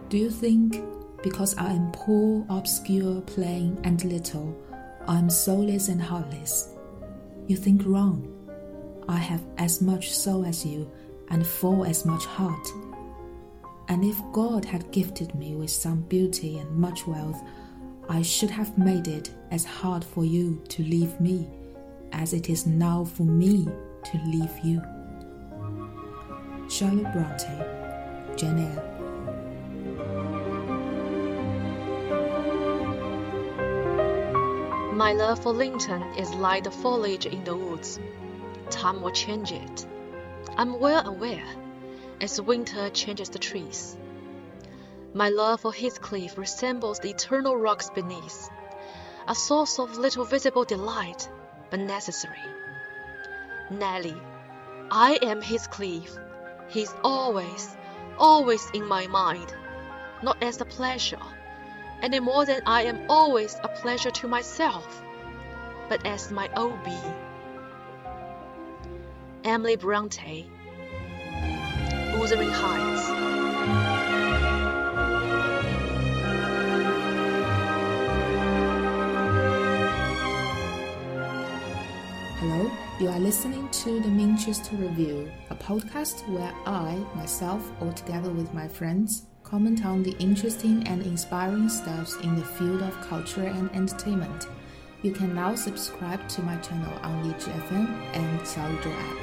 Do you think because I am poor, obscure, plain, and little, I am soulless and heartless? You think wrong. I have as much soul as you, and full as much heart. And if God had gifted me with some beauty and much wealth, I should have made it as hard for you to leave me as it is now for me to leave you. Charlotte Bronte, Jane Eyre. My love for Linton is like the foliage in the woods. Time will change it. I'm well aware, as winter changes the trees. My love for Heathcliff resembles the eternal rocks beneath, a source of little visible delight, but necessary. Nelly, I am Heathcliff. He's always, always in my mind, not as a pleasure, any more than I am always a pleasure to myself, but as my own being. Emily Bronte, Wuthering Heights. Hello, you are listening to the Manchester Review, a podcast where I, myself, or together with my friends, comment on the interesting and inspiring stuff in the field of culture and entertainment. You can now subscribe to my channel on Lizhi FM and Xiaoyizhou app.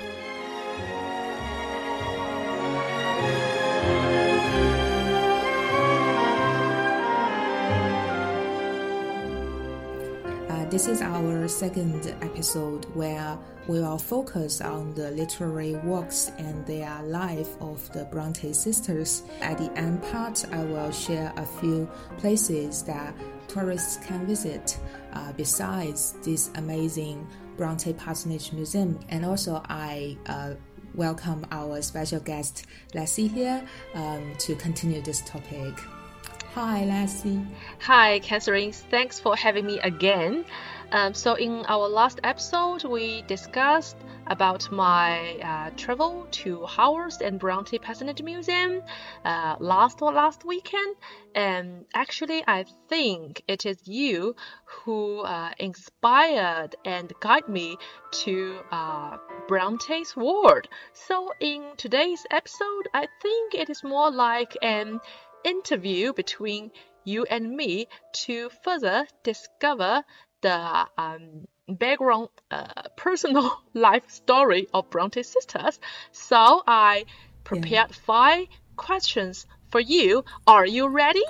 This is our second episode where we will focus on the literary works and their life of the Bronte sisters. At the end part, I will share a few places that tourists can visit besides this amazing Bronte Parsonage Museum. And also I welcome our special guest Lassie here to continue this topic. Hi, Lassie. Hi, Catherine. Thanks for having me again. So in our last episode, we discussed about my travel to Haworth and Bronte Parsonage Museum last weekend. And actually, I think it is you who inspired and guided me to Bronte's world. So in today's episode, I think it is more like an interview between you and me to further discover the background personal life story of Bronte sisters. So I prepared 5 questions for you. Are you ready?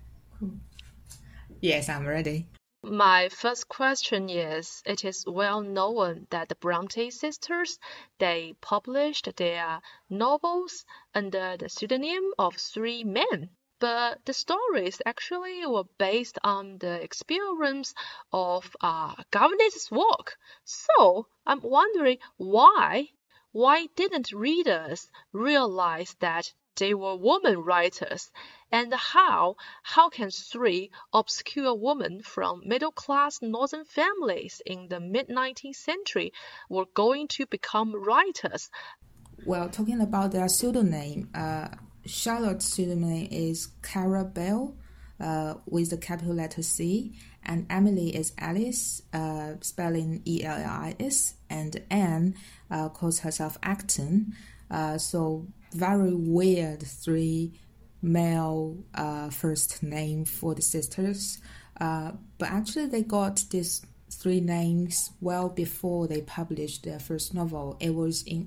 Yes, I'm ready. My first question is, it is well known that the Bronte sisters, they published their novels under the pseudonym of 3 men. But the stories actually were based on the experience of governess's work. So I'm wondering why didn't readers realize that they were women writers, and how can 3 obscure women from middle-class northern families in the mid-19th century were going to become writers? Well, talking about their pseudonym, Charlotte's pseudonym is Cara Bell, with the capital letter C, and Emily is Alice, spelling Ellis, and Anne calls herself Acton. So very weird 3 male first name for the sisters. But actually they got these 3 names well before they published their first novel. It was in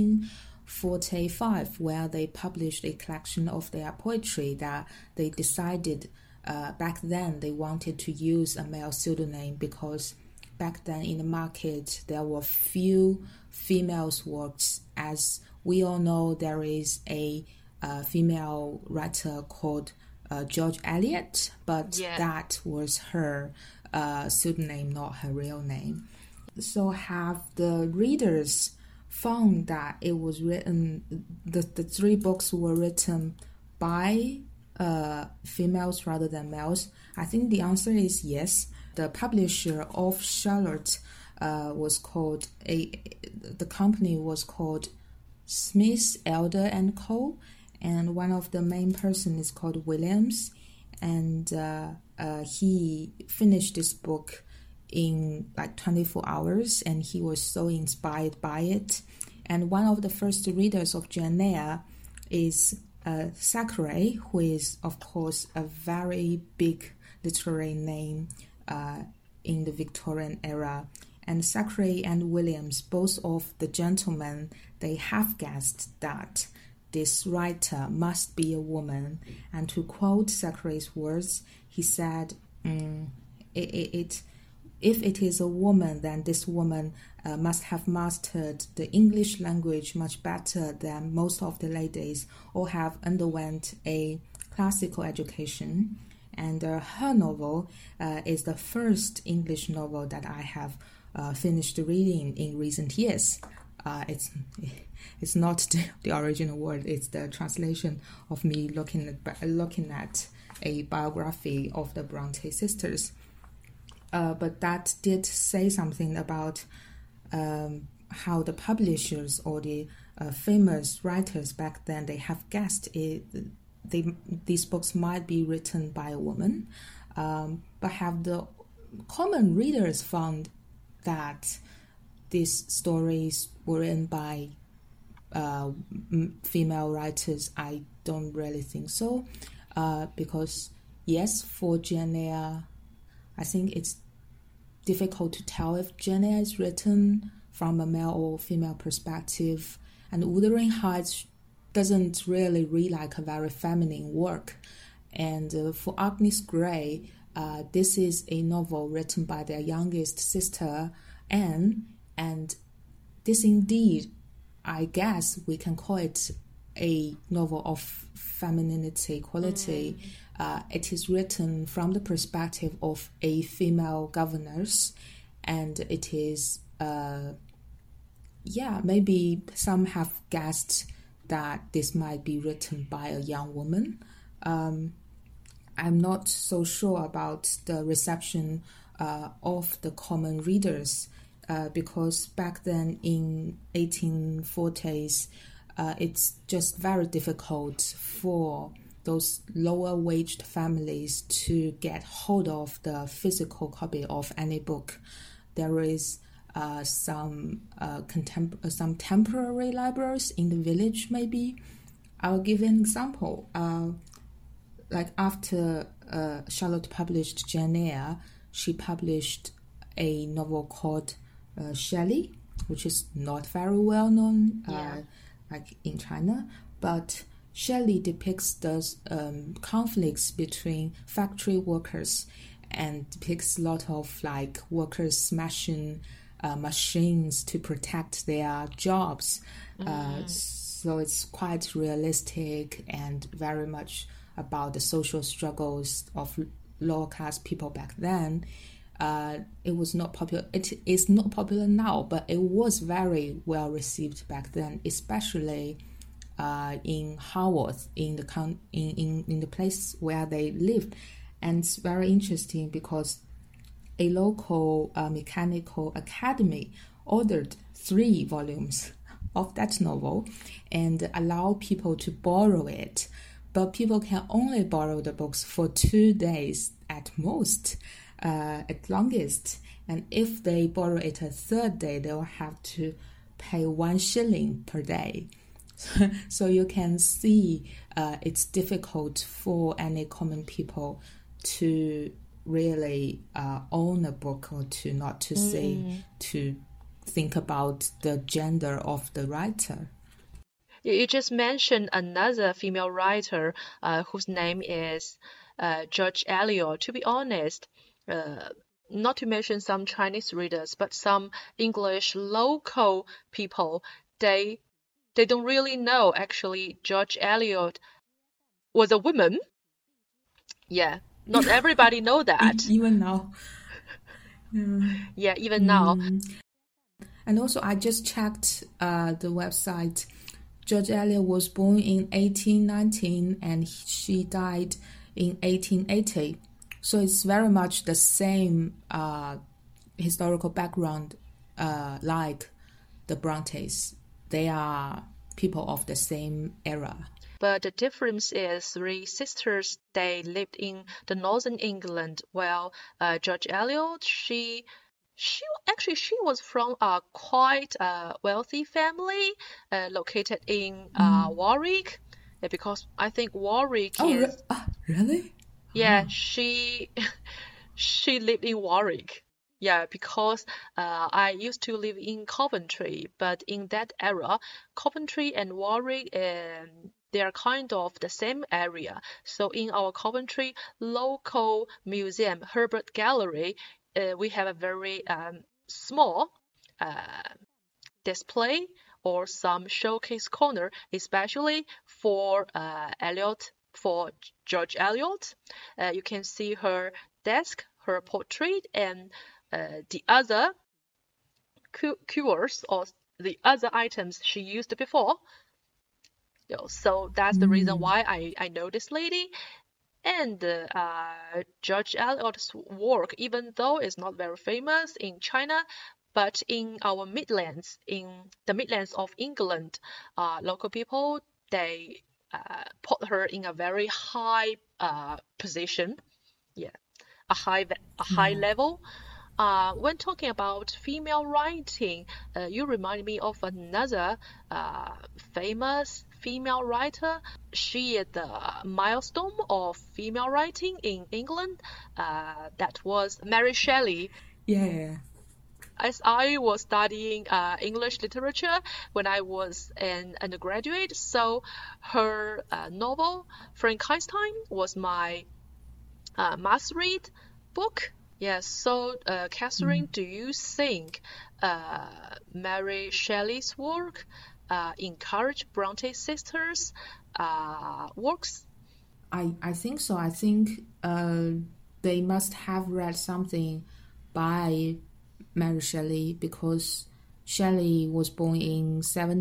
1845 where they published a collection of their poetry that they decided back then they wanted to use a male pseudonym because back then in the market there were few females' works. As we all know, there is a female writer called George Eliot, but that was her pseudonym, not her real name. So have the readers found that it was written, the 3 books were written by females rather than males? I think the answer is yes. The publisher of Charlotte the company was called Smith, Elder and Co. and one of the main person is called Williams, and he finished this book in like 24 hours, and he was so inspired by it. And one of the first readers of Jane Eyre is Thackeray, who is, of course, a very big literary name in the Victorian era. And Thackeray and Williams, both of the gentlemen, they have guessed that this writer must be a woman. And to quote Thackeray's words, he said, if it is a woman, then this woman must have mastered the English language much better than most of the ladies, or have underwent a classical education. And her novel is the first English novel that I have finished reading in recent years. It's not the original word, it's the translation of me looking at a biography of the Bronte sisters. But that did say something about how the publishers or the famous writers back then, they have guessed these books might be written by a woman, but have the common readers found that these stories were written by female writers? I don't really think so, because yes, for Jane Eyre, I think it's difficult to tell if Jane Eyre is written from a male or female perspective, and Wuthering Heights doesn't really read like a very feminine work. And for Agnes Grey, this is a novel written by their youngest sister, Anne, and this indeed, I guess we can call it a novel of femininity quality. It is written from the perspective of a female governess, and it is, maybe some have guessed that this might be written by a young woman. I'm not so sure about the reception of the common readers, because back then in 1840s, it's just very difficult for those lower waged families to get hold of the physical copy of any book. There is some temporary libraries in the village, maybe. I'll give an example. Like after Charlotte published Jane Eyre, she published a novel called Shelley, which is not very well known like in China, but Shelley depicts the conflicts between factory workers, and depicts a lot of like workers smashing machines to protect their jobs. So it's quite realistic and very much about the social struggles of lower class people back then. It was not popular. It is not popular now, but it was very well received back then, especially in Haworth, in the place where they lived. And it's very interesting because a local mechanical academy ordered 3 volumes of that novel and allow people to borrow it. But people can only borrow the books for 2 days at most, at longest. And if they borrow it a 3rd day, they will have to pay 1 shilling per day. So you can see it's difficult for any common people to really own a book, or to not to say, to think about the gender of the writer. You just mentioned another female writer whose name is George Eliot. To be honest, not to mention some Chinese readers, but some English local people, they don't really know actually George Eliot was a woman. Yeah, not everybody know that. Even now. Yeah, even now. And also, I just checked the website. George Eliot was born in 1819 and she died in 1880. So it's very much the same historical background like the Brontes. They are people of the same era. But the difference is three sisters, they lived in the northern England, while George Eliot, she was from a quite wealthy family located in Warwick, because I think Warwick is. Really? Yeah, she she lived in Warwick. Yeah, because I used to live in Coventry, but in that era, Coventry and Warwick, they are kind of the same area. So in our Coventry local museum, Herbert Gallery, we have a very small display or some showcase corner, especially for for George Eliot. You can see her desk, her portrait, and the other cures or the other items she used before. So that's the reason why I know this lady. And George Eliot's work, even though it's not very famous in China, but in our Midlands, in the Midlands of England, local people, they put her in a very high position. Yeah, a high level. When talking about female writing, you remind me of another famous female writer. She is the milestone of female writing in England. That was Mary Shelley. Yeah. As I was studying English literature when I was an undergraduate, so her novel Frankenstein was my must read book. Yes, so Catherine, do you think Mary Shelley's work encouraged Bronte sisters' works? I think so. I think they must have read something by Mary Shelley, because Shelley was born in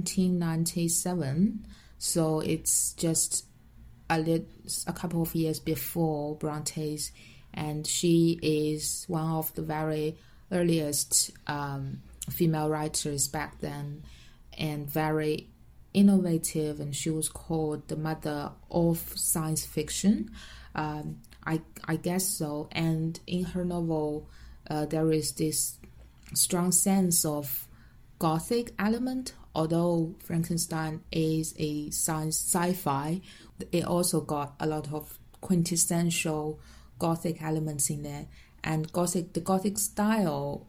1797, so it's just a couple of years before Bronte's, and she is one of the very earliest female writers back then, and very innovative, and she was called the mother of science fiction. I guess so. And in her novel, there is this strong sense of Gothic element. Although Frankenstein is a sci-fi, it also got a lot of quintessential Gothic elements in there. And the Gothic style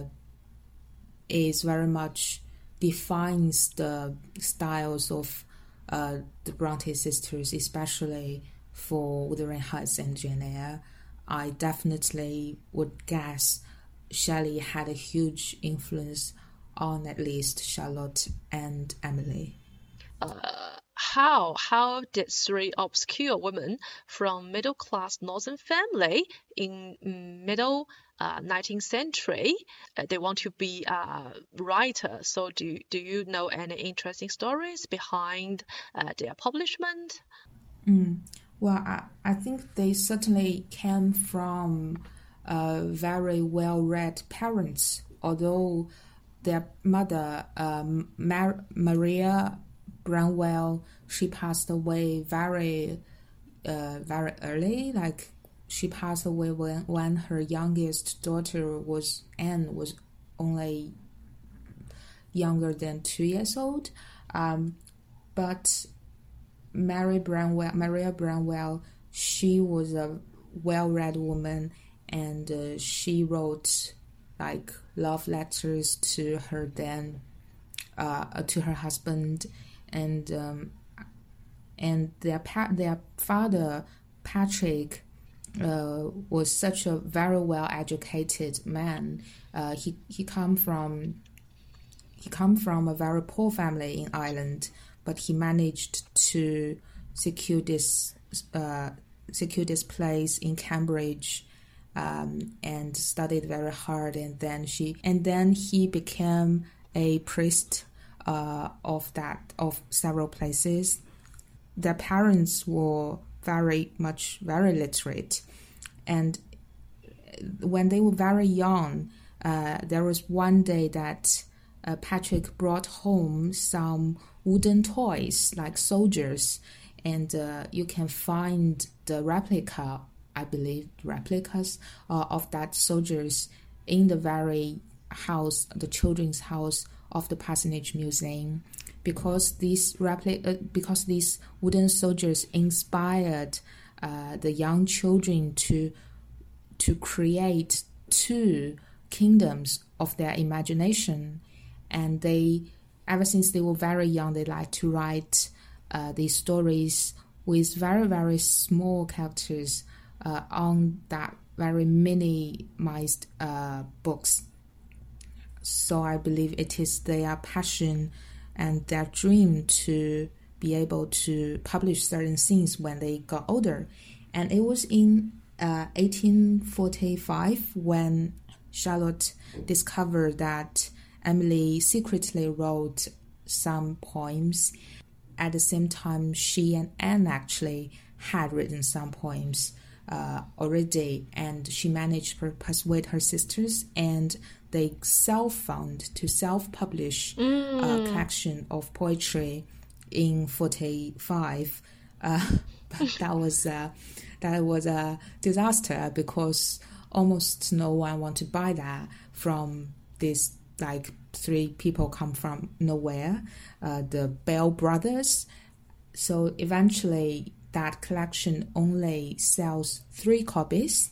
is very much defines the styles of the Bronte sisters, especially for Wuthering Heights and Jane Eyre. I definitely would guess Shelley had a huge influence on at least Charlotte and Emily. How did three obscure women from middle-class northern family in middle 19th century, they want to be a writer? So do you know any interesting stories behind their publishment? Well, I think they certainly came from very well-read parents, although their mother, Maria Branwell, she passed away very early. Like, she passed away when her youngest daughter Anne was only younger than 2 years old. But Maria Branwell, she was a well-read woman, and she wrote like love letters to her to her husband, and their father Patrick was such a very well educated man. He come from a very poor family in Ireland, but he managed to secure this place in Cambridge, and studied very hard, and then he became a priest of several places. Their parents were very literate, and when they were very young, there was one day that Patrick brought home some wooden toys like soldiers, and you can find the replica, I believe, replicas of that soldiers in the very house, the children's house of the Parsonage Museum, because these wooden soldiers inspired the young children to create two kingdoms of their imagination. And they, ever since they were very young, they like to write these stories with very, very small characters on that very minimized books. So I believe it is their passion and their dream to be able to publish certain things when they got older. And it was in 1845 when Charlotte discovered that Emily secretly wrote some poems. At the same time, she and Anne actually had written some poems already, and she managed to persuade her sisters, and they self-publish a collection of poetry in 45. But that was a disaster, because almost no one wanted to buy that from this, like, three people come from nowhere, the Bell brothers. So eventually that collection only sells 3 copies.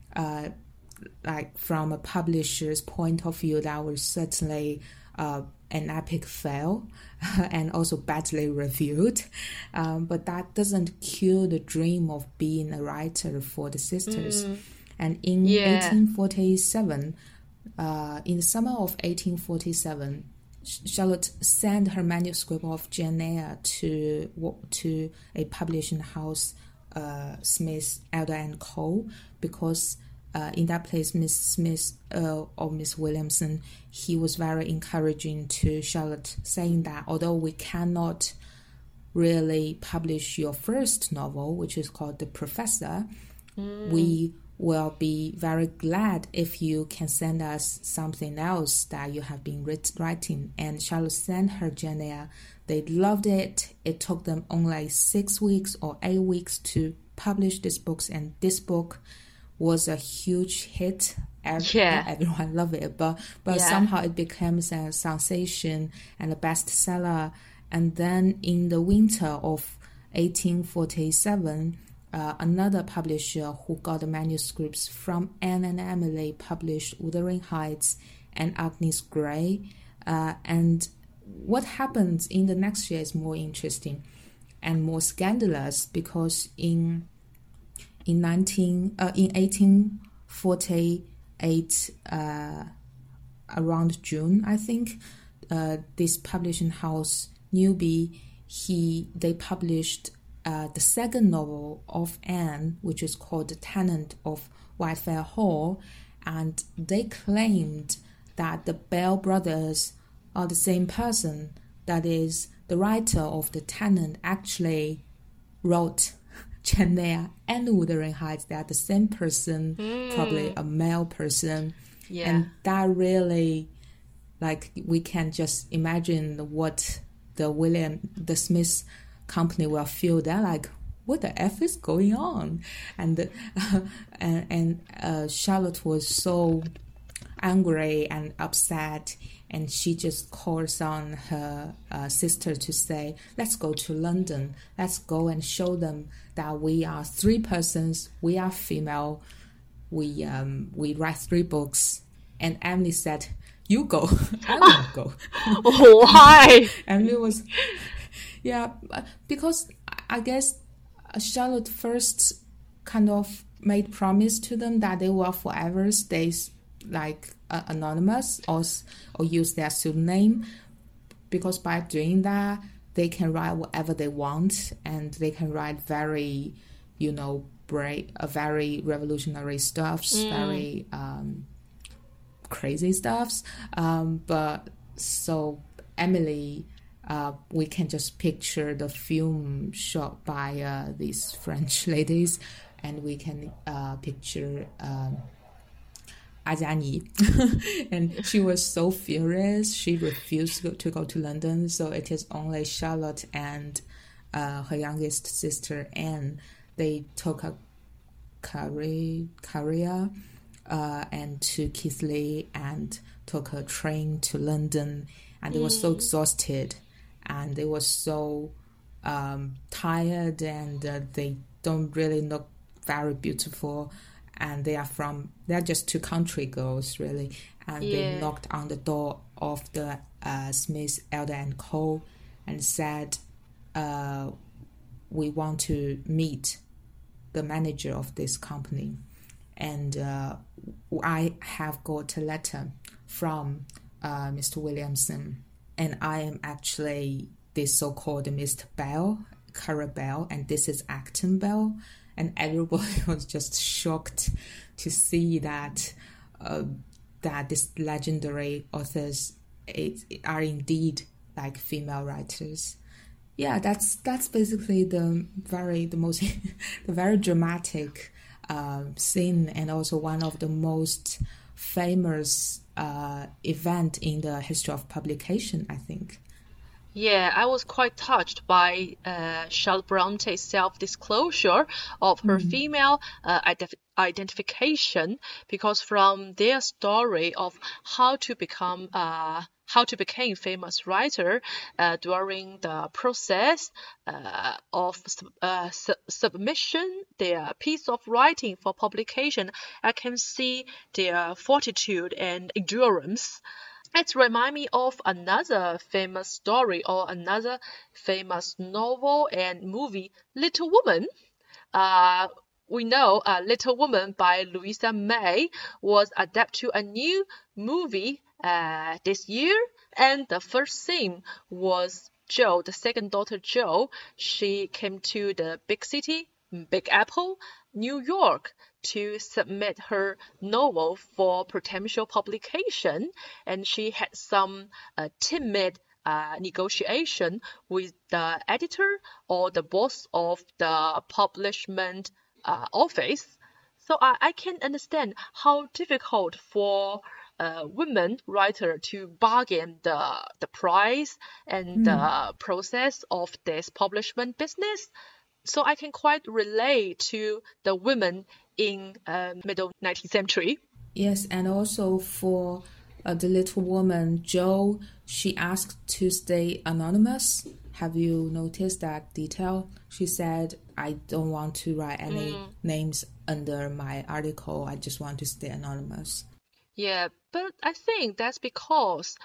Like, from a publisher's point of view, that was certainly an epic fail and also badly reviewed. But that doesn't kill the dream of being a writer for the sisters. And in 1847, in the summer of 1847, Charlotte sent her manuscript of Jane Eyre to a publishing house, Smith, Elder and Co., because in that place, Miss Smith or Miss Williamson, he was very encouraging to Charlotte, saying that although we cannot really publish your first novel, which is called The Professor, we will be very glad if you can send us something else that you have been writing. And Charlotte sent her Jane Eyre. They loved it. It took them only 6 weeks or 8 weeks to publish this book, and this book was a huge hit. Everyone loved it, but somehow it became a sensation and a bestseller. And then in the winter of 1847, another publisher who got the manuscripts from Anne and Emily published Wuthering Heights and Agnes Grey. And what happens in the next year is more interesting and more scandalous, because in 1848, around June, I think, this publishing house, Newby, they published the second novel of Anne, which is called The Tenant of Whitefell Hall, and they claimed that the Bell brothers are the same person. That is, the writer of The Tenant actually wrote Jane Eyre and Wuthering Heights. They are the same person, probably a male person. And that really, like, we can just imagine what the Smith company will feel. They're like, what the F is going on? And Charlotte was so angry and upset, and she just calls on her sister to say, let's go to London. Let's go and show them that we are 3 persons. We are female. We write 3 books. And Emily said, you go. I won't go. Why? Emily was... Yeah, because I guess Charlotte first kind of made promise to them that they will forever stay like anonymous or use their pseudonym, because by doing that they can write whatever they want, and they can write very, very revolutionary stuffs, very crazy stuffs. But so Emily, we can just picture the film shot by these French ladies, and we can picture Azani. And she was so furious. She refused to go to London, so it is only Charlotte and her youngest sister Anne, they took a career and to Keighley and took a train to London, and they were so exhausted and they were so tired, and they don't really look very beautiful, and they're just two country girls really, and they knocked on the door of the Smith Elder and Co. and said, we want to meet the manager of this company, and I have got a letter from Mr. Williamson, and I am actually this so-called Mr. Bell, Cara Bell, and this is Acton Bell, and everybody was just shocked to see that that this legendary authors are indeed like female writers. Yeah, that's basically the very dramatic scene, and also one of the most famous event in the history of publication, I think. Yeah, I was quite touched by Charlotte Bronte's self-disclosure of her female identification, because from their story of how to become famous writer during the process of submission, their piece of writing for publication, I can see their fortitude and endurance. It reminds me of another famous story or another famous novel and movie, Little Woman. We know Little Woman by Louisa May was adapted to a new movie this year, and the first scene was Jo, the second daughter Jo. She came to the big city, Big Apple, New York, to submit her novel for potential publication, and she had some timid negotiation with the editor or the boss of the publishment office. So I can understand how difficult for a women writer to bargain the price and the process of this publishment business. So I can quite relate to the women in middle 19th century. Yes, and also for the Little Woman, Jo, she asked to stay anonymous. Have you noticed that detail? She said, I don't want to write any names under my article. I just want to stay anonymous. Yeah, but I think that's because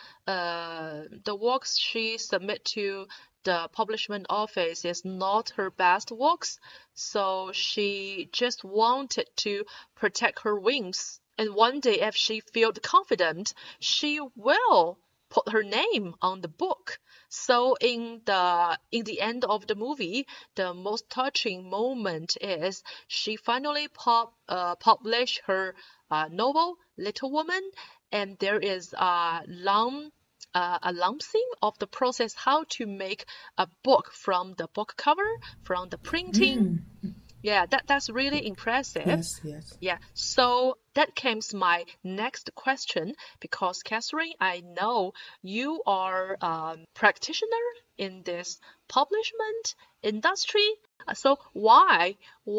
the works she submit to the publishment office is not her best works, so she just wanted to protect her wings. And one day, if she felt confident, she will put her name on the book. So in the end of the movie, the most touching moment is she finally published her novel Little Woman, and there is a long scene of the process how to make a book, from the book cover, from the printing. Yeah, that's really impressive. Yes. Yeah, so that comes my next question, because Catherine, I know you are a practitioner in this publishment industry. So why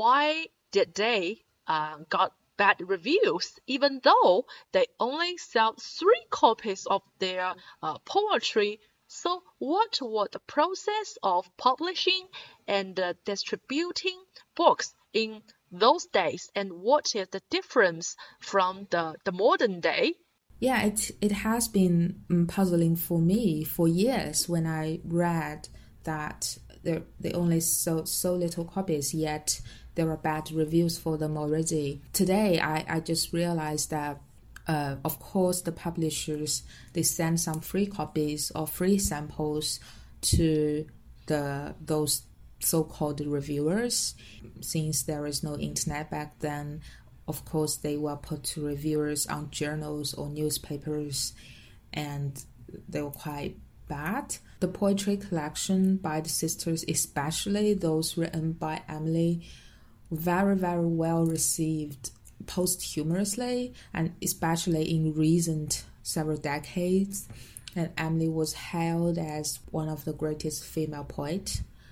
did they got bad reviews, even though they only sell 3 copies of their poetry? So what was the process of publishing and distributing books in those days, and what is the difference from the modern day? Yeah, it has been puzzling for me for years when I read that they only sold so little copies, yet there were bad reviews for them already. Today, I just realized that of course, the publishers, they send some free copies or free samples to those so-called reviewers. Since there is no internet back then, of course, they will put reviewers on journals or newspapers, and they were quite bad. The poetry collection by the sisters, especially those written by Emily, very, very well received posthumously, and especially in recent several decades. And Emily was hailed as one of the greatest female poets.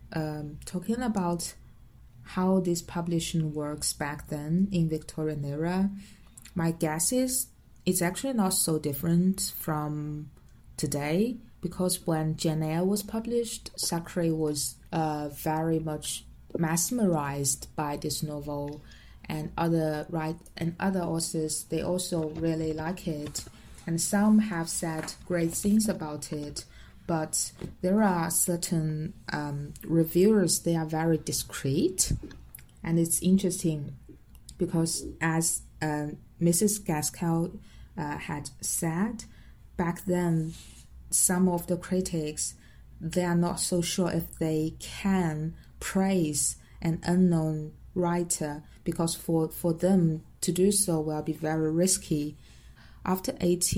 talking about how this publishing works back then in Victorian era, my guess is it's actually not so different from today, because when Jane Eyre was published, Thackeray was very much mesmerized by this novel, and other authors, they also really like it, and some have said great things about it. But there are certain reviewers, they are very discreet, and it's interesting because as Mrs. Gaskell had said, back then some of the critics, they are not so sure if they can praise an unknown writer, because for them to do so will be very risky. After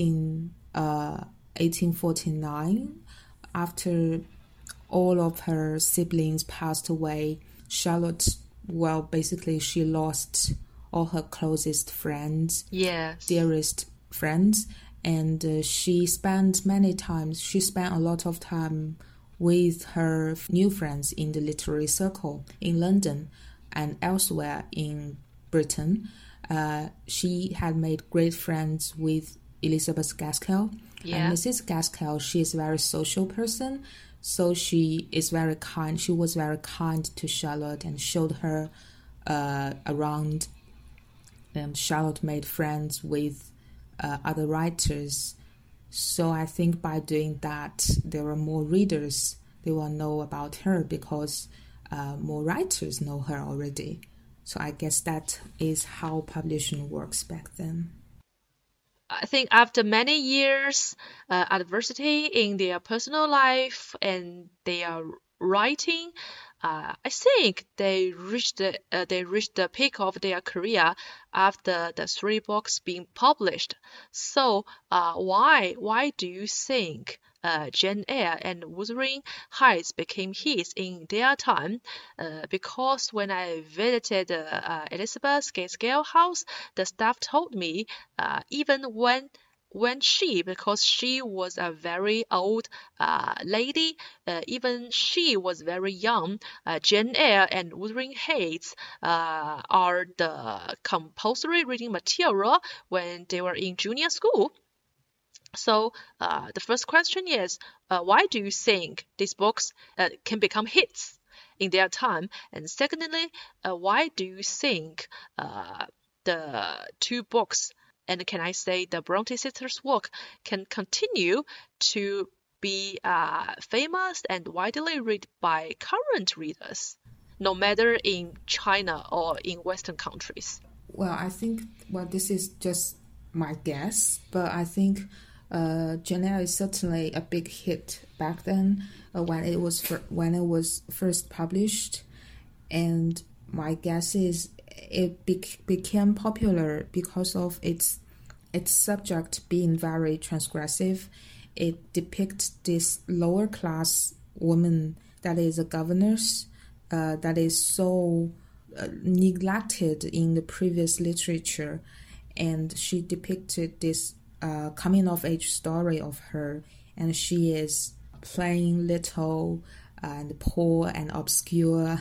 1849, after all of her siblings passed away, Charlotte, well, basically she lost all her closest friends, yes, dearest friends, and she spent a lot of time with her new friends in the literary circle in London and elsewhere in Britain. She had made great friends with Elizabeth Gaskell. Yeah. And Mrs. Gaskell, she is a very social person, so she is very kind. She was very kind to Charlotte and showed her around. And Charlotte made friends with other writers. So I think by doing that, there are more readers. They will know about her because more writers know her already. So I guess that is how publishing works back then. I think after many years adversity in their personal life and their writing, I think they reached the peak of their career after the 3 books being published. So why do you think Jane Eyre and Wuthering Heights became hits in their time? Because when I visited Elizabeth Gaskell house, the staff told me even because she was a very old lady, even she was very young, Jane Eyre and Wuthering Heights are the compulsory reading material when they were in junior school. So the first question is, why do you think these books can become hits in their time? And secondly, why do you think the 2 books, and can I say the Bronte sisters' work, can continue to be famous and widely read by current readers, no matter in China or in Western countries? Well, I think, this is just my guess, but I think Jane Eyre is certainly a big hit back then when it was first published, and my guess is it became popular because of its subject being very transgressive. It depicts this lower class woman that is a governess, that is so neglected in the previous literature, and she depicted this coming of age story of her, and she is plain, little, and poor and obscure,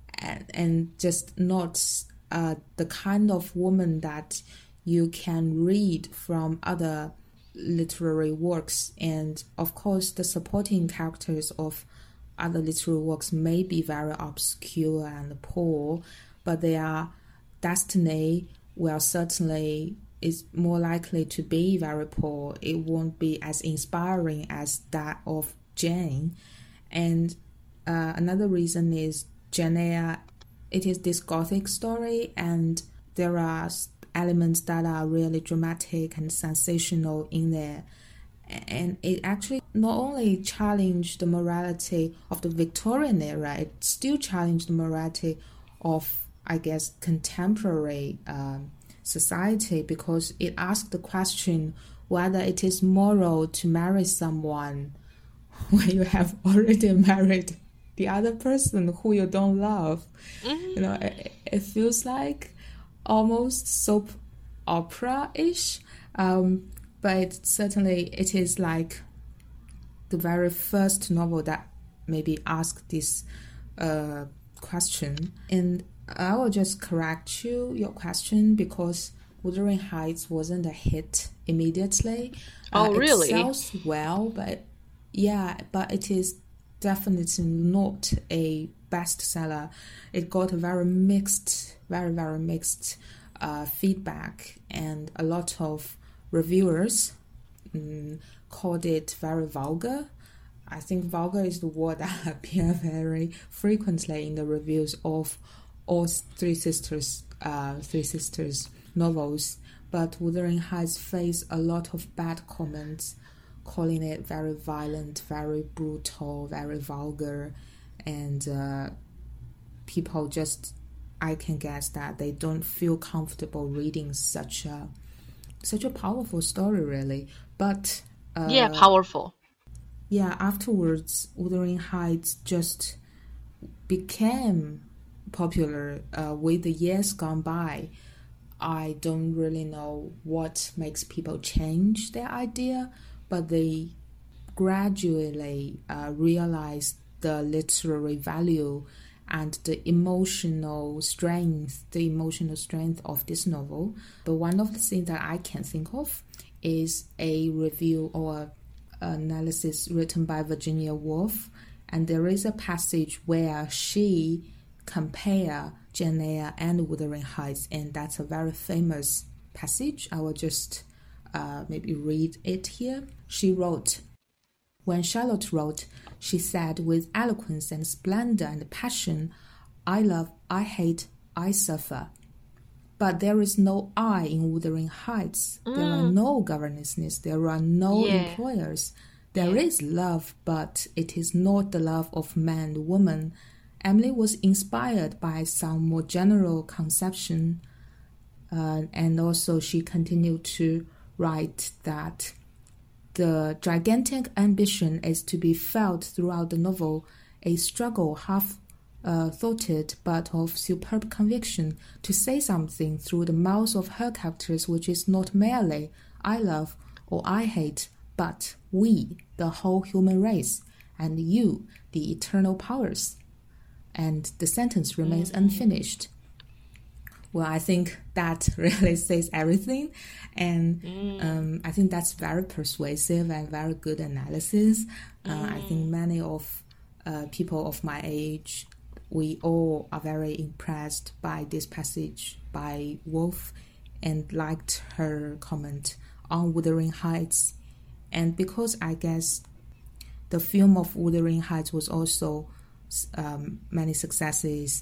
and just not the kind of woman that you can read from other literary works. And of course, the supporting characters of other literary works may be very obscure and poor, but their destiny will certainly is more likely to be very poor. It won't be as inspiring as that of Jane. And another reason is Jane Eyre, it is this Gothic story, and there are elements that are really dramatic and sensational in there. And it actually not only challenged the morality of the Victorian era, it still challenged the morality of, I guess, contemporary society, because it asked the question whether it is moral to marry someone when you have already married the other person who you don't love. Mm-hmm. It feels like almost soap opera-ish, but certainly it is like the very first novel that maybe asked this question, and I will just correct your question because Wuthering Heights wasn't a hit immediately. Oh, really? It sells well, but it is definitely not a bestseller. It got a very mixed, very mixed feedback, and a lot of reviewers called it very vulgar. I think vulgar is the word that appears very frequently in the reviews of all Three Sisters novels. But Wuthering Heights faced a lot of bad comments, calling it very violent, very brutal, very vulgar, and people just, I can guess that they don't feel comfortable reading such a powerful story, really. But yeah, powerful. Yeah, afterwards, Wuthering Heights just became popular with the years gone by. I don't really know what makes people change their idea, but they gradually realized the literary value and the emotional strength of this novel. But one of the things that I can think of is a review or analysis written by Virginia Woolf, and there is a passage where she compare Jane Eyre and Wuthering Heights, and that's a very famous passage. I will just maybe read it here. She wrote, "When Charlotte wrote, she said with eloquence and splendor and passion, 'I love, I hate, I suffer.' But there is no I in Wuthering Heights. There are no governesses. There are no employers. There is love, but it is not the love of man and woman. Emily was inspired by some more general conception." And also she continued to write that the gigantic ambition is to be felt throughout the novel, a struggle half thoughted but of superb conviction, to say something through the mouths of her characters which is not merely I love or I hate, but we, the whole human race, and you, the eternal powers. And the sentence remains unfinished. Well, I think that really says everything, and I think that's very persuasive and very good analysis. I think many of people of my age, we all are very impressed by this passage by Woolf and liked her comment on Wuthering Heights. And because I guess the film of Wuthering Heights was also many successes,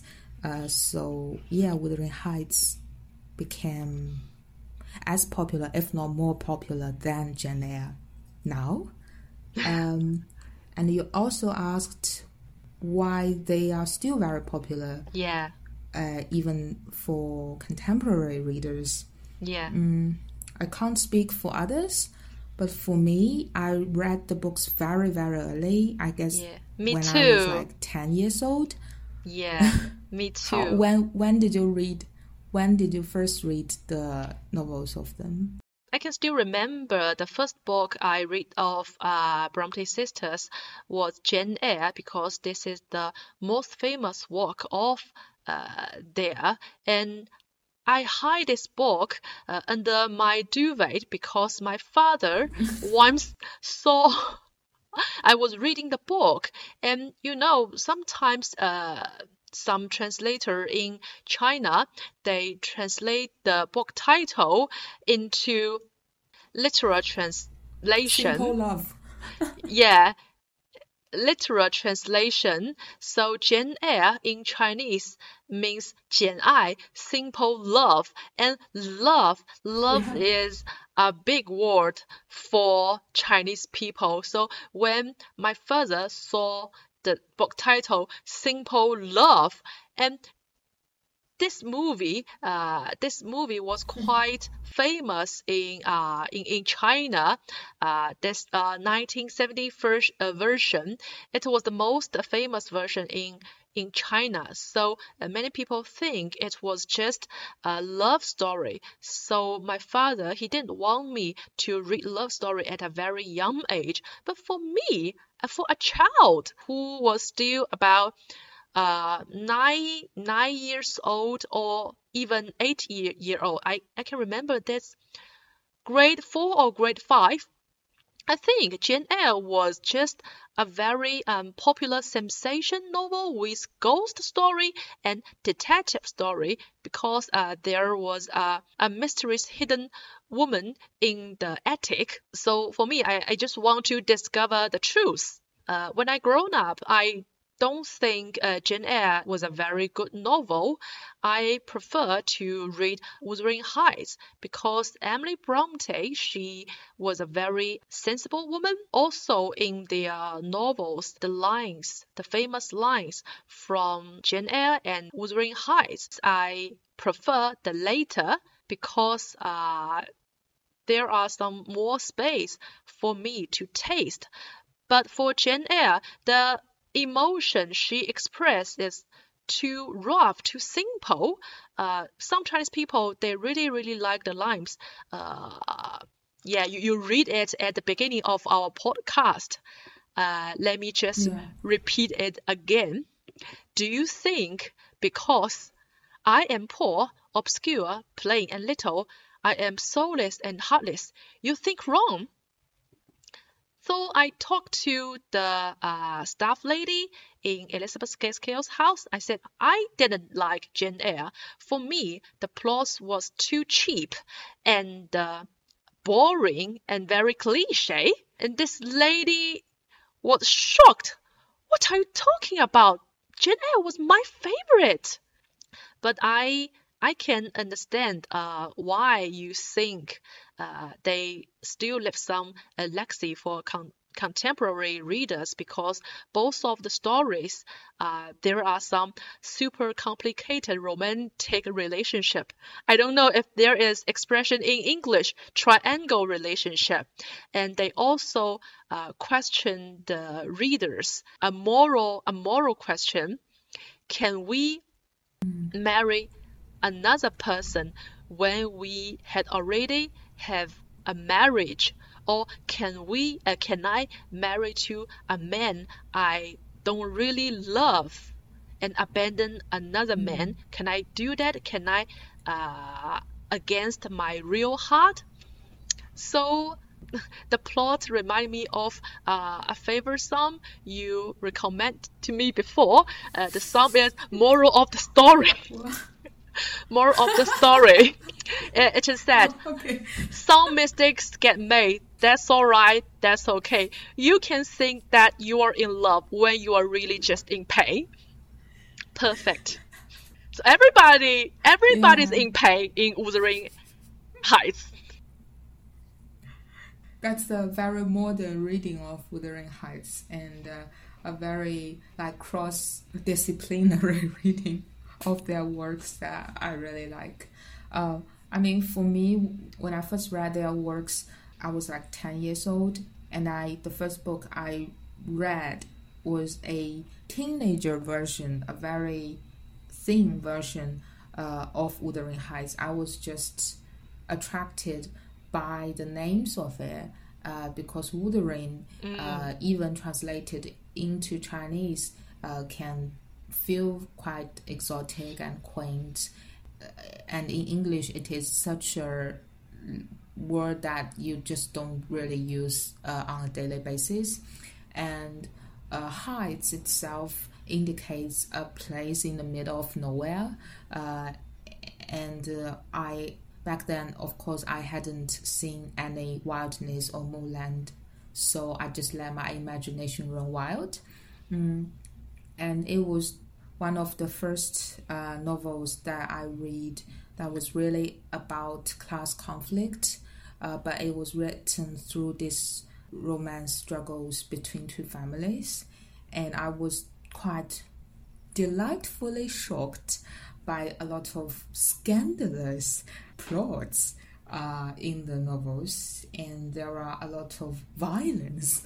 Wuthering Heights became as popular, if not more popular, than Jane Eyre now. And you also asked why they are still very popular. Yeah. Even for contemporary readers. Yeah. I can't speak for others, but for me, I read the books very, very early. I guess me when too. I was like 10 years old. Yeah, me too. When did you read? When did you first read the novels of them? I can still remember the first book I read of Bronte sisters was Jane Eyre, because this is the most famous work of there, and I hide this book under my duvet because my father once saw I was reading the book, and sometimes some translator in China, they translate the book title into literal translation. Simple Love. Yeah, literal translation. So Jane Eyre in Chinese means 简爱, simple love, and love is a big word for Chinese people. So when my father saw the book title Simple Love, and this movie was quite famous in China. This 1970 version, it was the most famous version in China. So many people think it was just a love story. So my father, he didn't want me to read love story at a very young age. But for me, for a child who was still about nine years old or even 8 year old. I can remember this grade 4 or grade 5. I think Jane Eyre was just a very popular sensation novel with ghost story and detective story because there was a mysterious hidden woman in the attic. So for me, I just want to discover the truth. When I grown up, I don't think Jane Eyre was a very good novel. I prefer to read Wuthering Heights because Emily Bronte, she was a very sensible woman. Also in the novels, the famous lines from Jane Eyre and Wuthering Heights, I prefer the later because there are some more space for me to taste. But for Jane Eyre, the emotion she expressed is too rough, too simple. Some Chinese people, they really like the lines. Yeah, you read it at the beginning of our podcast. Let me just repeat it again. Do you think because I am poor, obscure, plain and little, I am soulless and heartless, you think wrong? So I talked to the staff lady in Elizabeth Gaskell's house. I said, I didn't like Jane Eyre. For me, the plot was too cheap and boring and very cliche. And this lady was shocked. What are you talking about? Jane Eyre was my favorite. But I can understand why you think they still leave some legacy for contemporary readers because both of the stories, there are some super complicated romantic relationship. I don't know if there is expression in English, triangle relationship. And they also question the readers, a moral question. Can we marry another person when we had already have a marriage, or can I marry to a man I don't really love and abandon another man? Can I do that? Can I against my real heart? So the plot remind me of a favorite song you recommend to me before. The song is Moral of the Story. Moral of the story. It is said, some mistakes get made. That's all right. That's okay. You can think that you are in love when you are really just in pain. Perfect. So everybody's in pain in Wuthering Heights. That's a very modern reading of Wuthering Heights and a very cross-disciplinary reading of their works that I really like. I mean, for me, when I first read their works, I was 10 years old, and the first book I read was a teenager version, a very thin version of Wuthering Heights. I was just attracted by the names of it because Wuthering, even translated into Chinese, can feel quite exotic and quaint. And in English, it is such a word that you just don't really use on a daily basis. And Heights itself indicates a place in the middle of nowhere. Back then, of course, I hadn't seen any wildness or moorland, so I just let my imagination run wild. And it was one of the first novels that I read that was really about class conflict, but it was written through this romance struggles between two families, and I was quite delightfully shocked by a lot of scandalous plots in the novels, and there are a lot of violence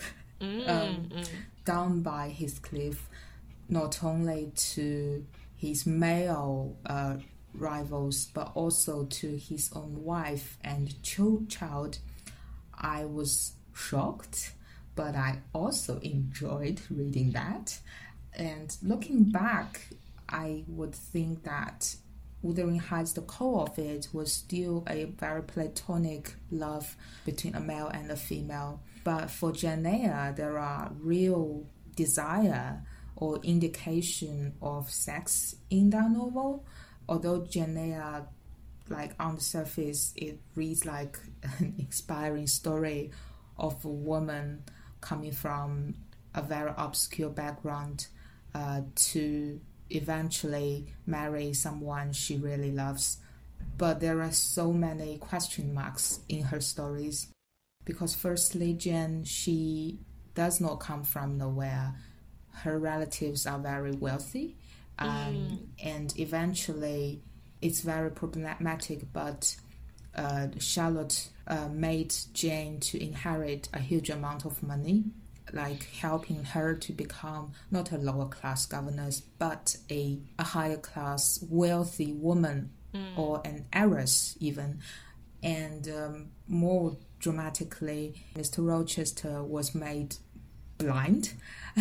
done by Heathcliff, not only to his male rivals, but also to his own wife and child. I was shocked, but I also enjoyed reading that. And looking back, I would think that Wuthering Heights, the core of it was still a very platonic love between a male and a female. But for Jane Eyre, there are real desire or indication of sex in that novel. Although Jane Eyre, like on the surface, it reads like an inspiring story of a woman coming from a very obscure background to eventually marry someone she really loves. But there are so many question marks in her stories because, firstly, Jane, she does not come from nowhere. Her relatives are very wealthy, and eventually it's very problematic. But Charlotte made Jane to inherit a huge amount of money, like helping her to become not a lower class governess, but a higher class wealthy woman or an heiress even. And more dramatically, Mr. Rochester was made blind.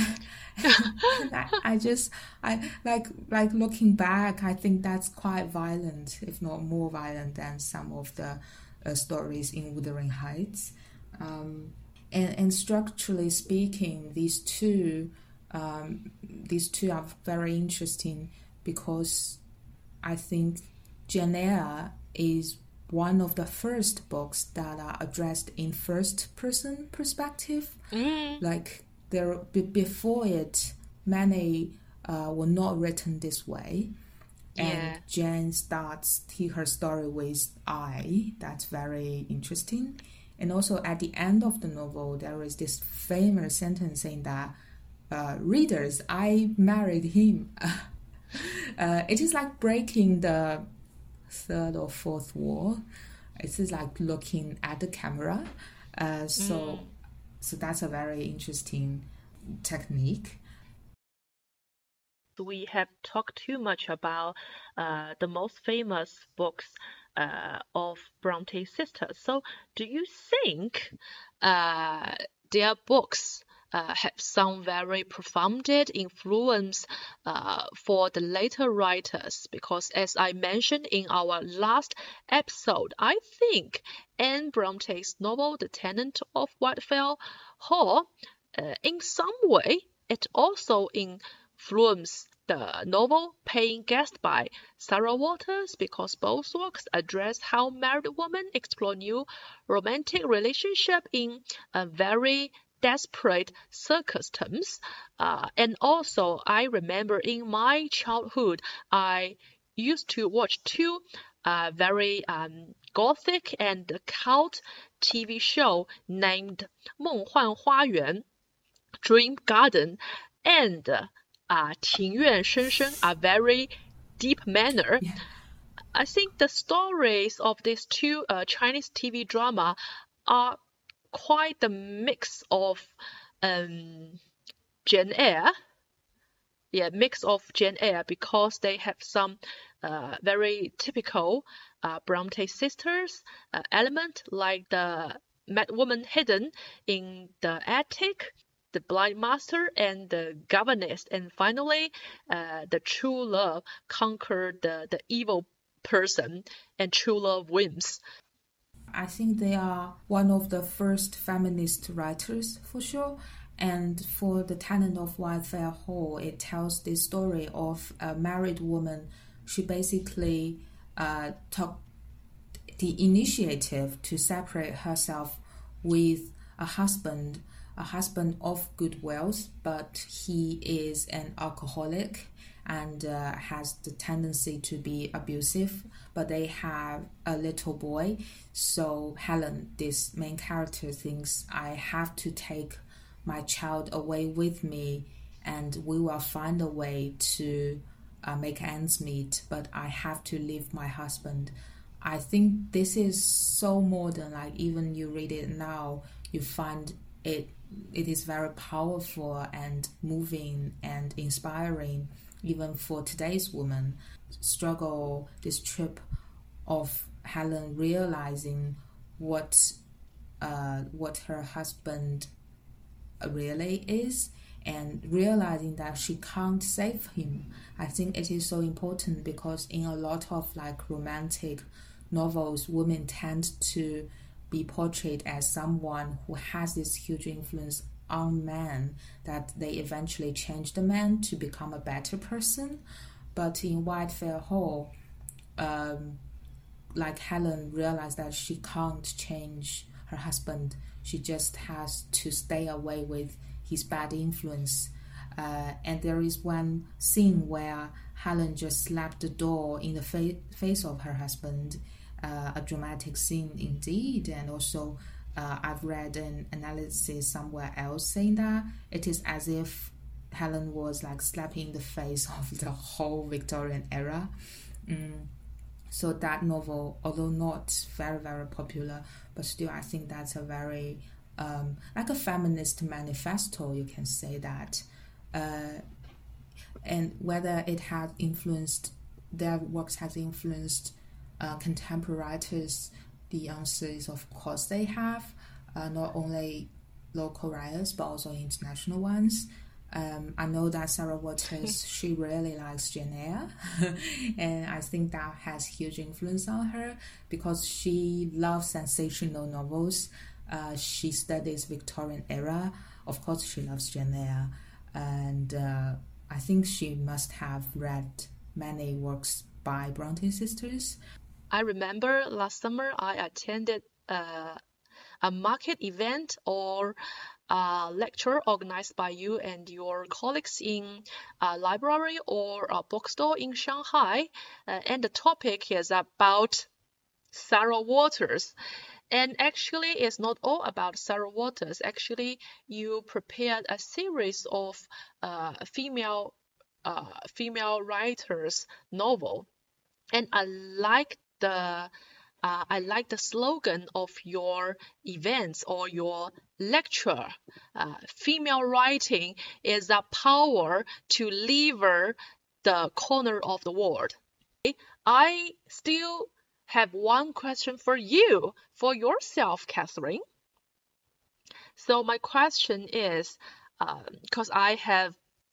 I like looking back, I think that's quite violent, if not more violent than some of the stories in Wuthering Heights. And structurally speaking, these two are very interesting because I think Jane Eyre is one of the first books that are addressed in first-person perspective. Like before it, many were not written this way. And Jane starts her story with I. That's very interesting. And also at the end of the novel, there is this famous sentence saying that, readers, I married him. It is like breaking the third or fourth wall. It is like looking at the camera. So that's a very interesting technique. We have talked too much about the most famous books of Bronte sisters. So, do you think their books have some very profound influence for the later writers? Because, as I mentioned in our last episode, I think Anne Bronte's novel *The Tenant of Whitefell Hall*, in some way, it also influenced the novel Paying Guest by Sarah Waters, because both works address how married women explore new romantic relationship in a very desperate circumstance. And also, I remember in my childhood, I used to watch two very gothic and cult TV show named 梦幻花园 Dream Garden and 庭院深深 are very deep manner. Yeah. I think the stories of these two Chinese TV drama are quite the mix of Jane Eyre. Yeah, mix of Jane Eyre because they have some very typical Bronte sisters element, like the mad woman hidden in the attic, the blind master, and the governess, and finally the true love conquered the evil person, and true love wins. I think they are one of the first feminist writers for sure. And for The Tenant of Whitefell Hall, it tells the story of a married woman. She basically took the initiative to separate herself with a husband of good wealth, but he is an alcoholic and has the tendency to be abusive, but they have a little boy. So Helen, this main character, thinks, I have to take my child away with me and we will find a way to make ends meet, but I have to leave my husband. I think this is so modern, like even you read it now, you find it is very powerful and moving and inspiring, even for today's woman. Struggle, this trip of Helen realizing what her husband really is, and realizing that she can't save him. I think it is so important because in a lot of like romantic novels, women tend to be portrayed as someone who has this huge influence on men, that they eventually change the man to become a better person. But in White Fair Hall, like Helen realized that she can't change her husband. She just has to stay away with his bad influence. And there is one scene where Helen just slapped the door in the face of her husband. A dramatic scene indeed. And also I've read an analysis somewhere else saying that it is as if Helen was like slapping the face of the whole Victorian era. So that novel, although not very, very popular, but still I think that's a very, like a feminist manifesto, you can say that. And whether it has influenced, their works has influenced contemporary writers, the answer is of course they have, not only local writers but also international ones. I know that Sarah Waters, she really likes Jane Eyre, and I think that has huge influence on her because she loves sensational novels. She studies Victorian era. Of course, she loves Jane Eyre, and I think she must have read many works by Bronte sisters. I remember last summer I attended a market event or a lecture organized by you and your colleagues in a library or a bookstore in Shanghai, and the topic is about Sarah Waters. And actually, it's not all about Sarah Waters. Actually, you prepared a series of female writers' novel, and I like the slogan of your events or your lecture. Female writing is the power to lever the corner of the world. I still have one question for you, for yourself, Catherine. So my question is, because I have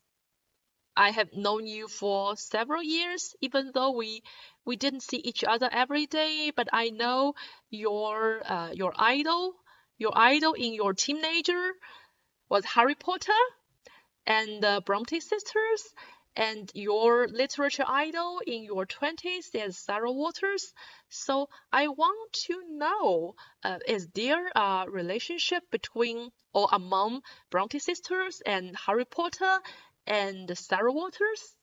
known you for several years, even though we didn't see each other every day, but I know your idol in your teenager was Harry Potter and the Bronte sisters, and your literature idol in your 20s is Sarah Waters. So I want to know, is there a relationship between or among Bronte sisters and Harry Potter and Sarah Waters?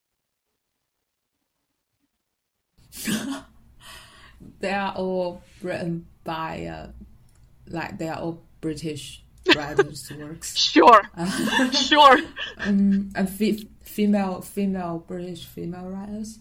They are all written by, they are all British writers' works. Sure, sure. And British female writers.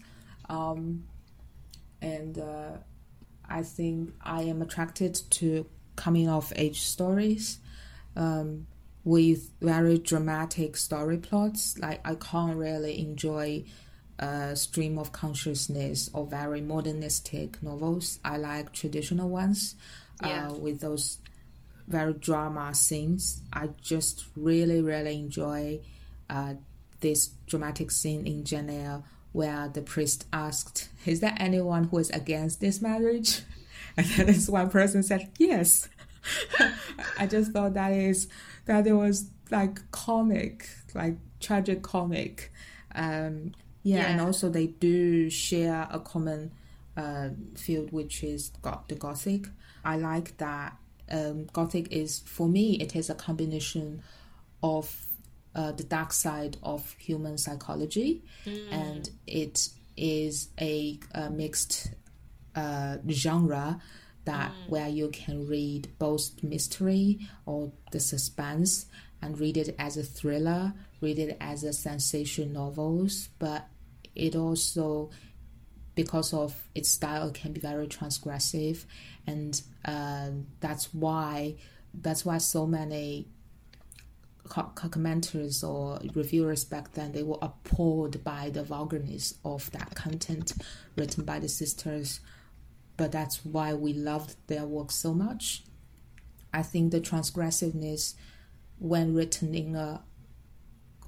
And I think I am attracted to coming of age stories. With very dramatic story plots. Like I can't really enjoy stream of consciousness or very modernistic novels. I like traditional ones with those very drama scenes. I just really, really enjoy this dramatic scene in Jane Eyre where the priest asked, "Is there anyone who is against this marriage?" And then this one person said, "Yes." I just thought that it was like comic, like tragic comic. And also they do share a common field, which is the Gothic. I like that Gothic is, for me, it is a combination of the dark side of human psychology, and it is a mixed genre that where you can read both mystery or the suspense and read it as a thriller, read it as a sensation novels, but it also, because of its style, it can be very transgressive, and that's why so many commenters or reviewers back then, they were appalled by the vulgarness of that content written by the sisters. But that's why we loved their work so much. I think the transgressiveness, when written in a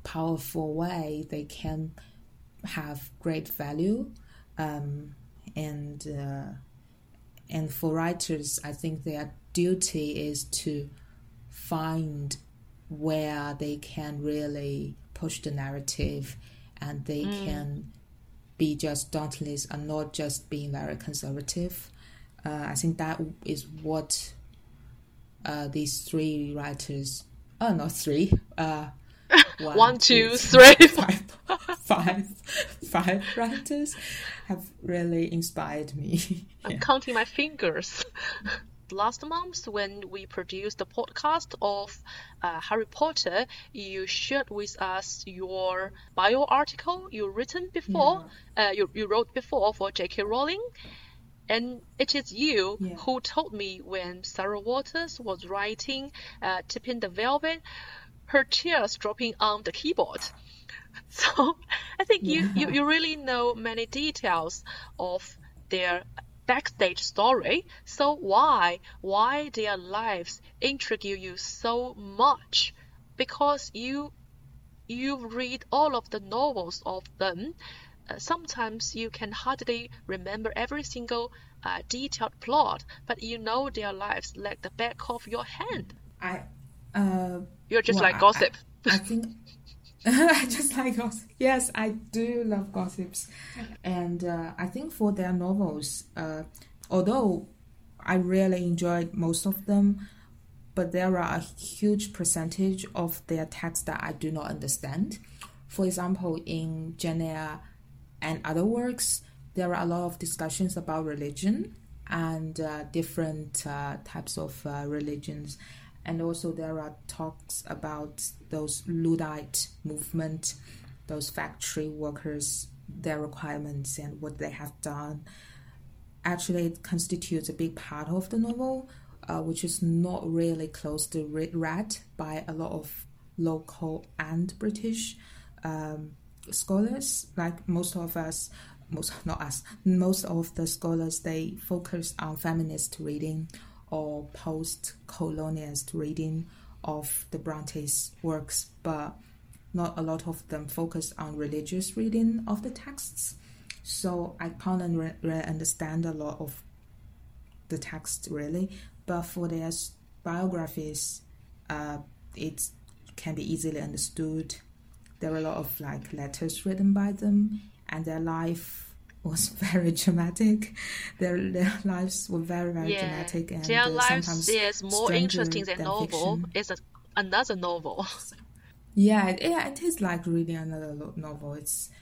powerful way, they can have great value. And for writers, I think their duty is to find where they can really push the narrative, and they can be just dauntless and not just being very conservative. I think that is what these three writers, not three, one, two, three, five writers have really inspired me. I'm counting my fingers. Last month, when we produced the podcast of Harry Potter, you shared with us your bio article you written before. You wrote before for J.K. Rowling. And it is you who told me when Sarah Waters was writing Tipping the Velvet, her tears dropping on the keyboard. So I think you really know many details of their backstage story. So why their lives intrigue you so much? Because you read all of the novels of them. Sometimes you can hardly remember every single detailed plot, but you know their lives like the back of your hand. You're just like gossip. I think I just like gossip. Yes, I do love gossips. And I think for their novels, although I really enjoyed most of them, but there are a huge percentage of their text that I do not understand. For example, in Jane Eyre and other works, there are a lot of discussions about religion and different types of religions. And also there are talks about those Luddite movement, those factory workers, their requirements and what they have done. Actually, it constitutes a big part of the novel, which is not really closely read by a lot of local and British scholars. Like most of the scholars, they focus on feminist reading or post-colonialist reading of the Bronte's works, but not a lot of them focus on religious reading of the texts. So I can't really understand a lot of the text really, but for their biographies, it can be easily understood. There are a lot of letters written by them, and their life was very dramatic. Their lives were very, very dramatic, and their lives sometimes is more interesting than novel. Fiction. It's another novel. Yeah, it is like reading another novel.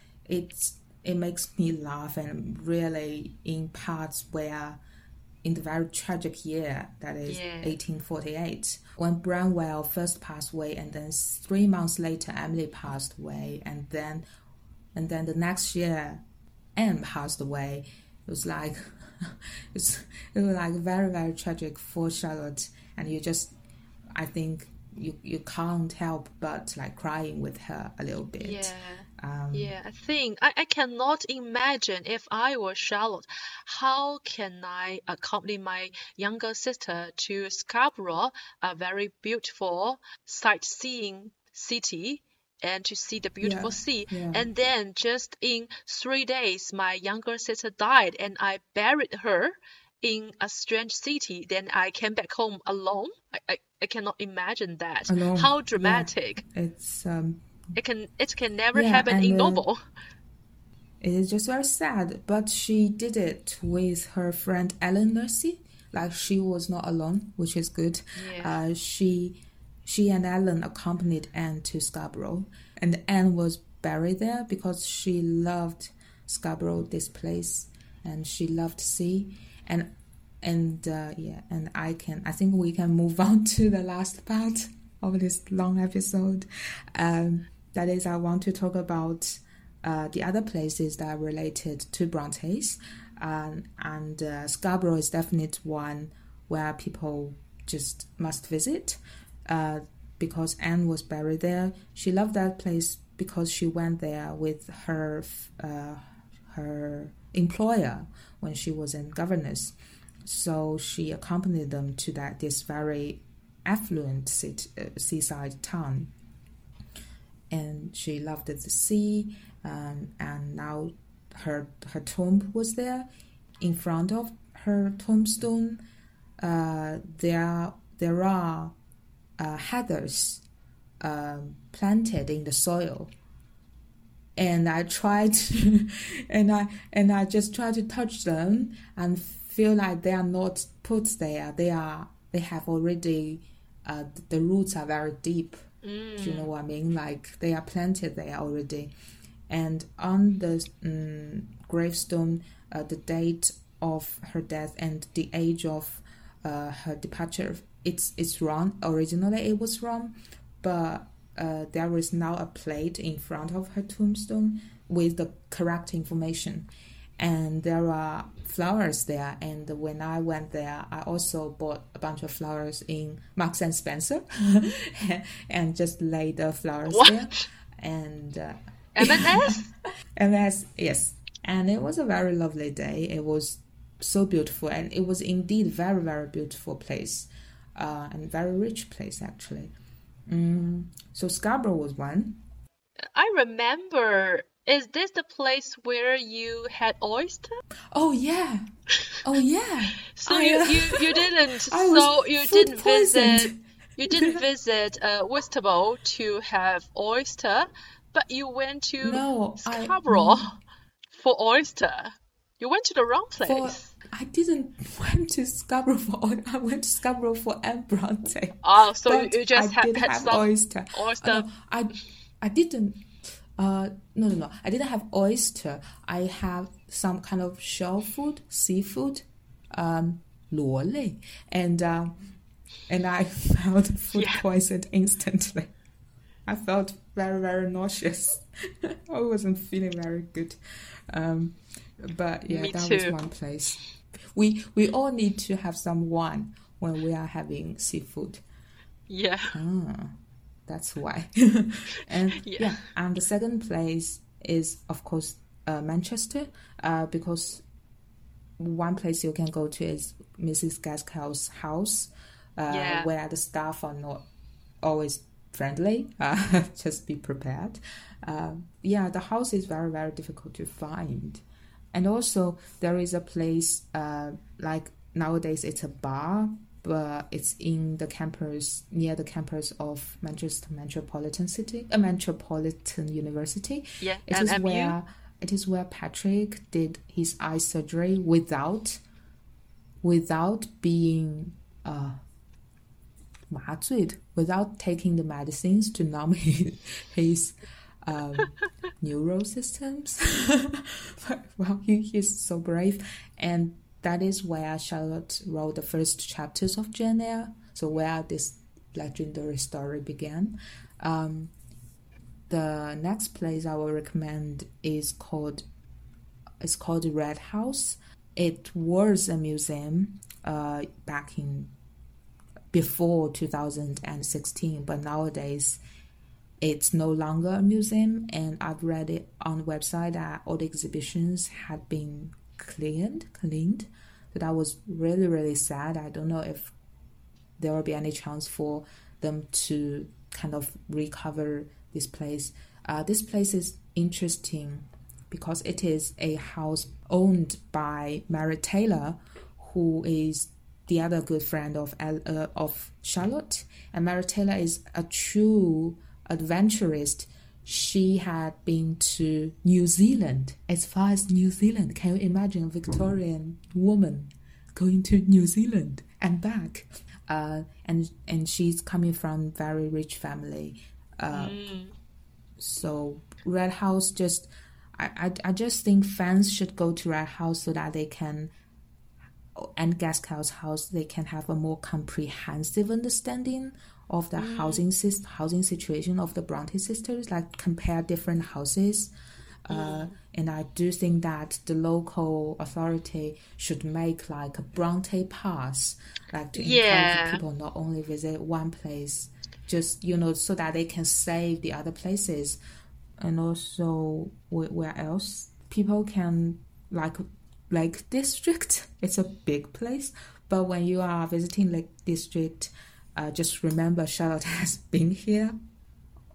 It makes me laugh, and really in parts where, in the very tragic year that is 1848, when Branwell first passed away, and then 3 months later Emily passed away, and then the next year Anne passed away. It was like it was like very, very tragic for Charlotte, and I think you can't help but crying with her a little bit. I think I cannot imagine if I were Charlotte, how can I accompany my younger sister to Scarborough, a very beautiful sightseeing city, and to see the beautiful sea. And then just in 3 days, my younger sister died, and I buried her in a strange city. Then I came back home alone. I cannot imagine that. Alone. How dramatic. It's it can never happen in novel. It is just very sad, but she did it with her friend Ellen Nursey. She was not alone, which is good. She and Ellen accompanied Anne to Scarborough, and Anne was buried there because she loved Scarborough, this place, and she loved sea. And I think we can move on to the last part of this long episode. That is, I want to talk about the other places that are related to Bronte's, and Scarborough is definitely one where people just must visit. Because Anne was buried there. She loved that place because she went there with her employer when she was a governess. So she accompanied them to this very affluent seaside town. and she loved the sea, and now her tomb was there. In front of her tombstone, there are heathers planted in the soil, and I tried to, and I just tried to touch them and feel like they are not put there. They have already the roots are very deep. Do you know what I mean? Like they are planted there already, and on the gravestone, the date of her death and the age of her departure, it's wrong. Originally it was wrong, but there is now a plate in front of her tombstone with the correct information, and there are flowers there. And when I went there, I also bought a bunch of flowers in Marks and Spencer and just laid the flowers there. And M&S? M&S, yes. And it was a very lovely day. It was so beautiful, and it was indeed very, very beautiful place, and very rich place actually. So Scarborough was one. I remember. Is this the place where you had oyster? Oh yeah, oh yeah. So you didn't. So you didn't visit. You didn't visit Whitstable to have oyster, but you went to Scarborough for oyster. You went to the wrong place. I didn't went to Scarborough I went to Scarborough for Anne Bronte. Oh, so you just had some oyster. Oyster. I didn't. No. I didn't have oyster. I have some kind of shell food, seafood, 螺类, and I felt food poisoned instantly. I felt very, very nauseous. I wasn't feeling very good. But yeah, Me that too. was one place. We all need to have some wine when we are having seafood. Yeah. That's why. And and the second place is of course Manchester, because one place you can go to is Mrs. Gaskell's house, where the staff are not always friendly. Just be prepared. The house is very, very difficult to find. And also there is a place like nowadays it's a bar, but it's in the campus, near the campus of Manchester Metropolitan University. Yeah, it is where Patrick did his eye surgery without being 麻醉, without taking the medicines to numb his neural systems. Well, he's so brave, and that is where Charlotte wrote the first chapters of Jane Eyre. So where this legendary story began. The next place I will recommend is called Red House. It was a museum back in before 2016, but nowadays it's no longer a museum, and I've read it on the website that all the exhibitions had been cleaned. So that was really, really sad. I don't know if there will be any chance for them to kind of recover this place. This place is interesting because it is a house owned by Mary Taylor, who is the other good friend of Charlotte. And Mary Taylor is a true adventurist. She had been to New Zealand, as far as New Zealand. Can you imagine a Victorian woman going to New Zealand and back? And she's coming from a very rich family. So Red House, I just think fans should go to Red House so that they can, and Gaskell's house, they can have a more comprehensive understanding of the housing situation of the Bronte sisters, like compare different houses. And I do think that the local authority should make like a Bronte pass, like to encourage people not only visit one place, just, so that they can save the other places. And also, where else? People can, like Lake District, it's a big place, but when you are visiting Lake District, just remember Charlotte has been here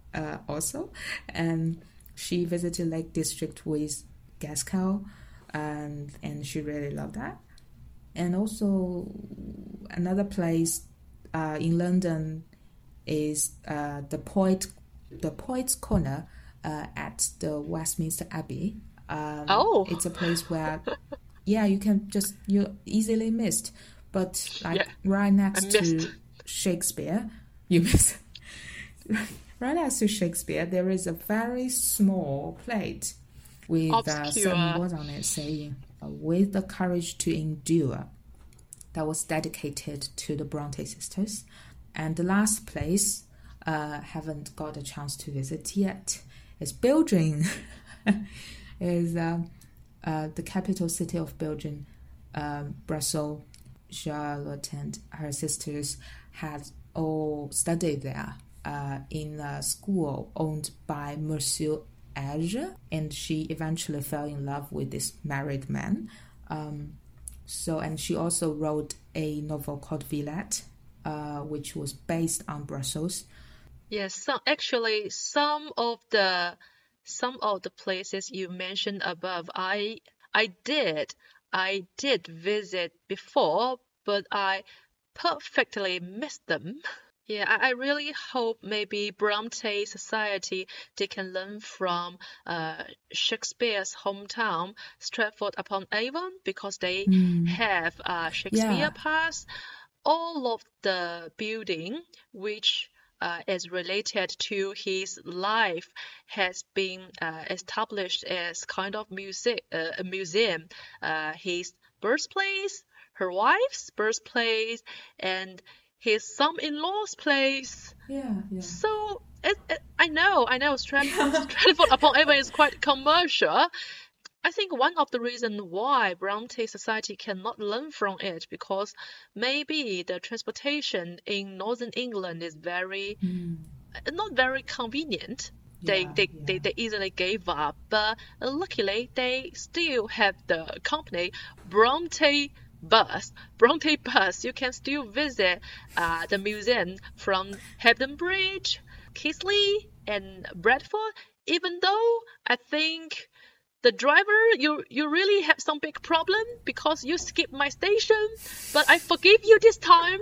also, and she visited Lake District with Gaskell, and she really loved that. And also another place in London is the Poets Corner at the Westminster Abbey. It's a place where you easily missed, but right next to Shakespeare, you miss. Right next to Shakespeare, there is a very small plate with some words on it saying, "With the courage to endure," that was dedicated to the Bronte sisters. And the last place, haven't got a chance to visit yet, is Belgium. Is the capital city of Belgium, Brussels. Charlotte and her sisters had all studied there in a school owned by Monsieur Age, and she eventually fell in love with this married man. And she also wrote a novel called Villette, which was based on Brussels. Yes, some of the places you mentioned above, I did visit before, but I perfectly missed them. Yeah, I really hope maybe Bronte Society, they can learn from Shakespeare's hometown, Stratford-upon-Avon, because they have Shakespeare Pass. All of the building which is related to his life has been established as kind of a museum. His birthplace, her wife's birthplace, and his son-in-law's place. Yeah. So I know Stratford-upon-Avon is quite commercial. I think one of the reasons why Bronte Society cannot learn from it, because maybe the transportation in Northern England is not very convenient. They easily gave up, but luckily they still have the company Bronte Bus. You can still visit the museum from Hebden Bridge, Keighley, and Bradford. Even though I think the driver, you really have some big problem because you skipped my station, but I forgive you this time.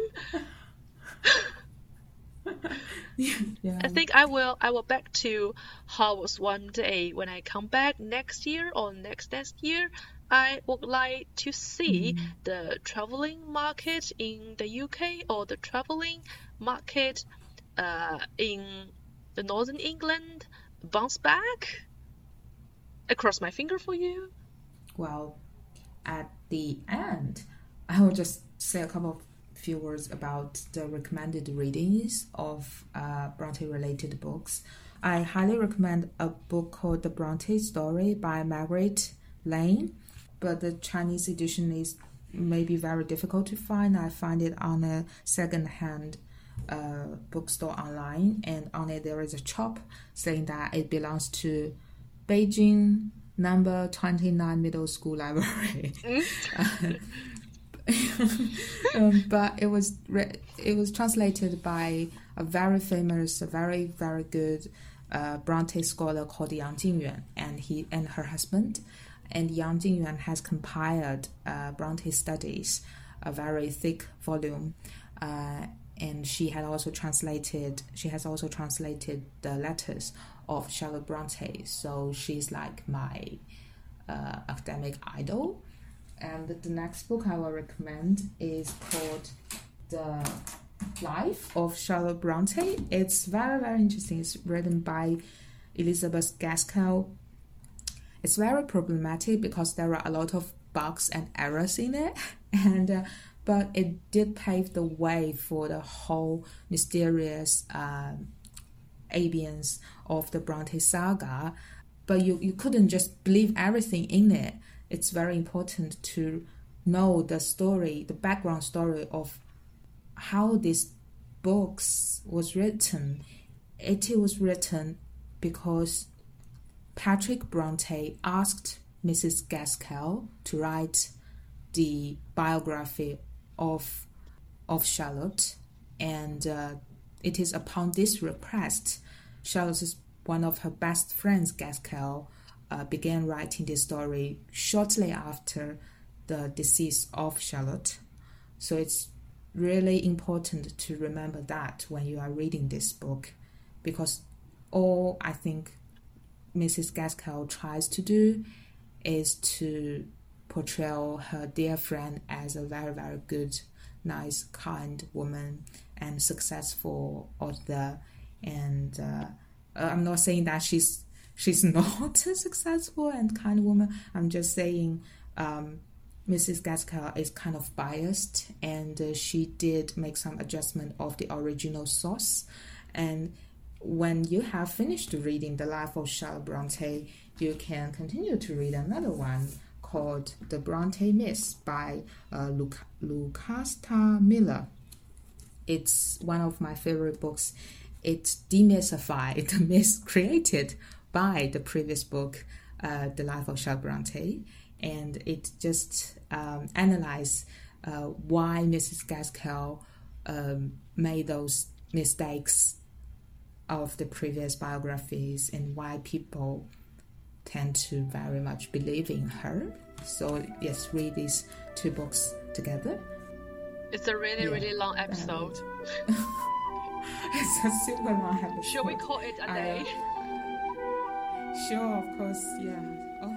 I think I will back to Hogwarts one day when I come back next year or next year. I would like to see the traveling market in the UK or the traveling market in the Northern England bounce back. I cross my finger for you. Well, at the end, I will just say a few words about the recommended readings of Bronte-related books. I highly recommend a book called The Bronte Story by Margaret Lane, but the Chinese edition is maybe very difficult to find. I find it on a second-hand bookstore online, and on it there is a chop saying that it belongs to Beijing number 29 Middle School Library. But it was translated by a very famous, very, very good Bronte scholar called Yang Jingyuan, and her husband. And Yang Jingyuan has compiled Bronte Studies, a very thick volume, and she has also translated the letters of Charlotte Bronte. So she's like my academic idol. And the next book I will recommend is called The Life of Charlotte Bronte. It's very, very interesting. It's written by Elizabeth Gaskell. It's very problematic because there are a lot of bugs and errors in it, but it did pave the way for the whole mysterious ambience of the Bronte saga. But you couldn't just believe everything in it. It's very important to know the story, the background story of how this books was written. It was written because Patrick Bronte asked Mrs. Gaskell to write the biography of Charlotte, and it is upon this request Charlotte's one of her best friends, Gaskell, began writing this story shortly after the decease of Charlotte. So it's really important to remember that when you are reading this book, because all I think Mrs. Gaskell tries to do is to portray her dear friend as a very, very good, nice, kind woman and successful author. And I'm not saying that she's not a successful and kind woman. I'm just saying Mrs. Gaskell is kind of biased, and she did make some adjustment of the original source. And when you have finished reading The Life of Charlotte Bronte, you can continue to read another one called The Bronte Myths by Lucasta Miller. It's one of my favorite books. It demystified the myths created by the previous book, The Life of Charlotte Bronte, and it just analyzed why Mrs. Gaskell made those mistakes of the previous biographies and why people tend to very much believe in her. So yes, read these two books together. It's a really long episode. It's a super long episode. Should we call it a day? Sure, of course, yeah. Oh,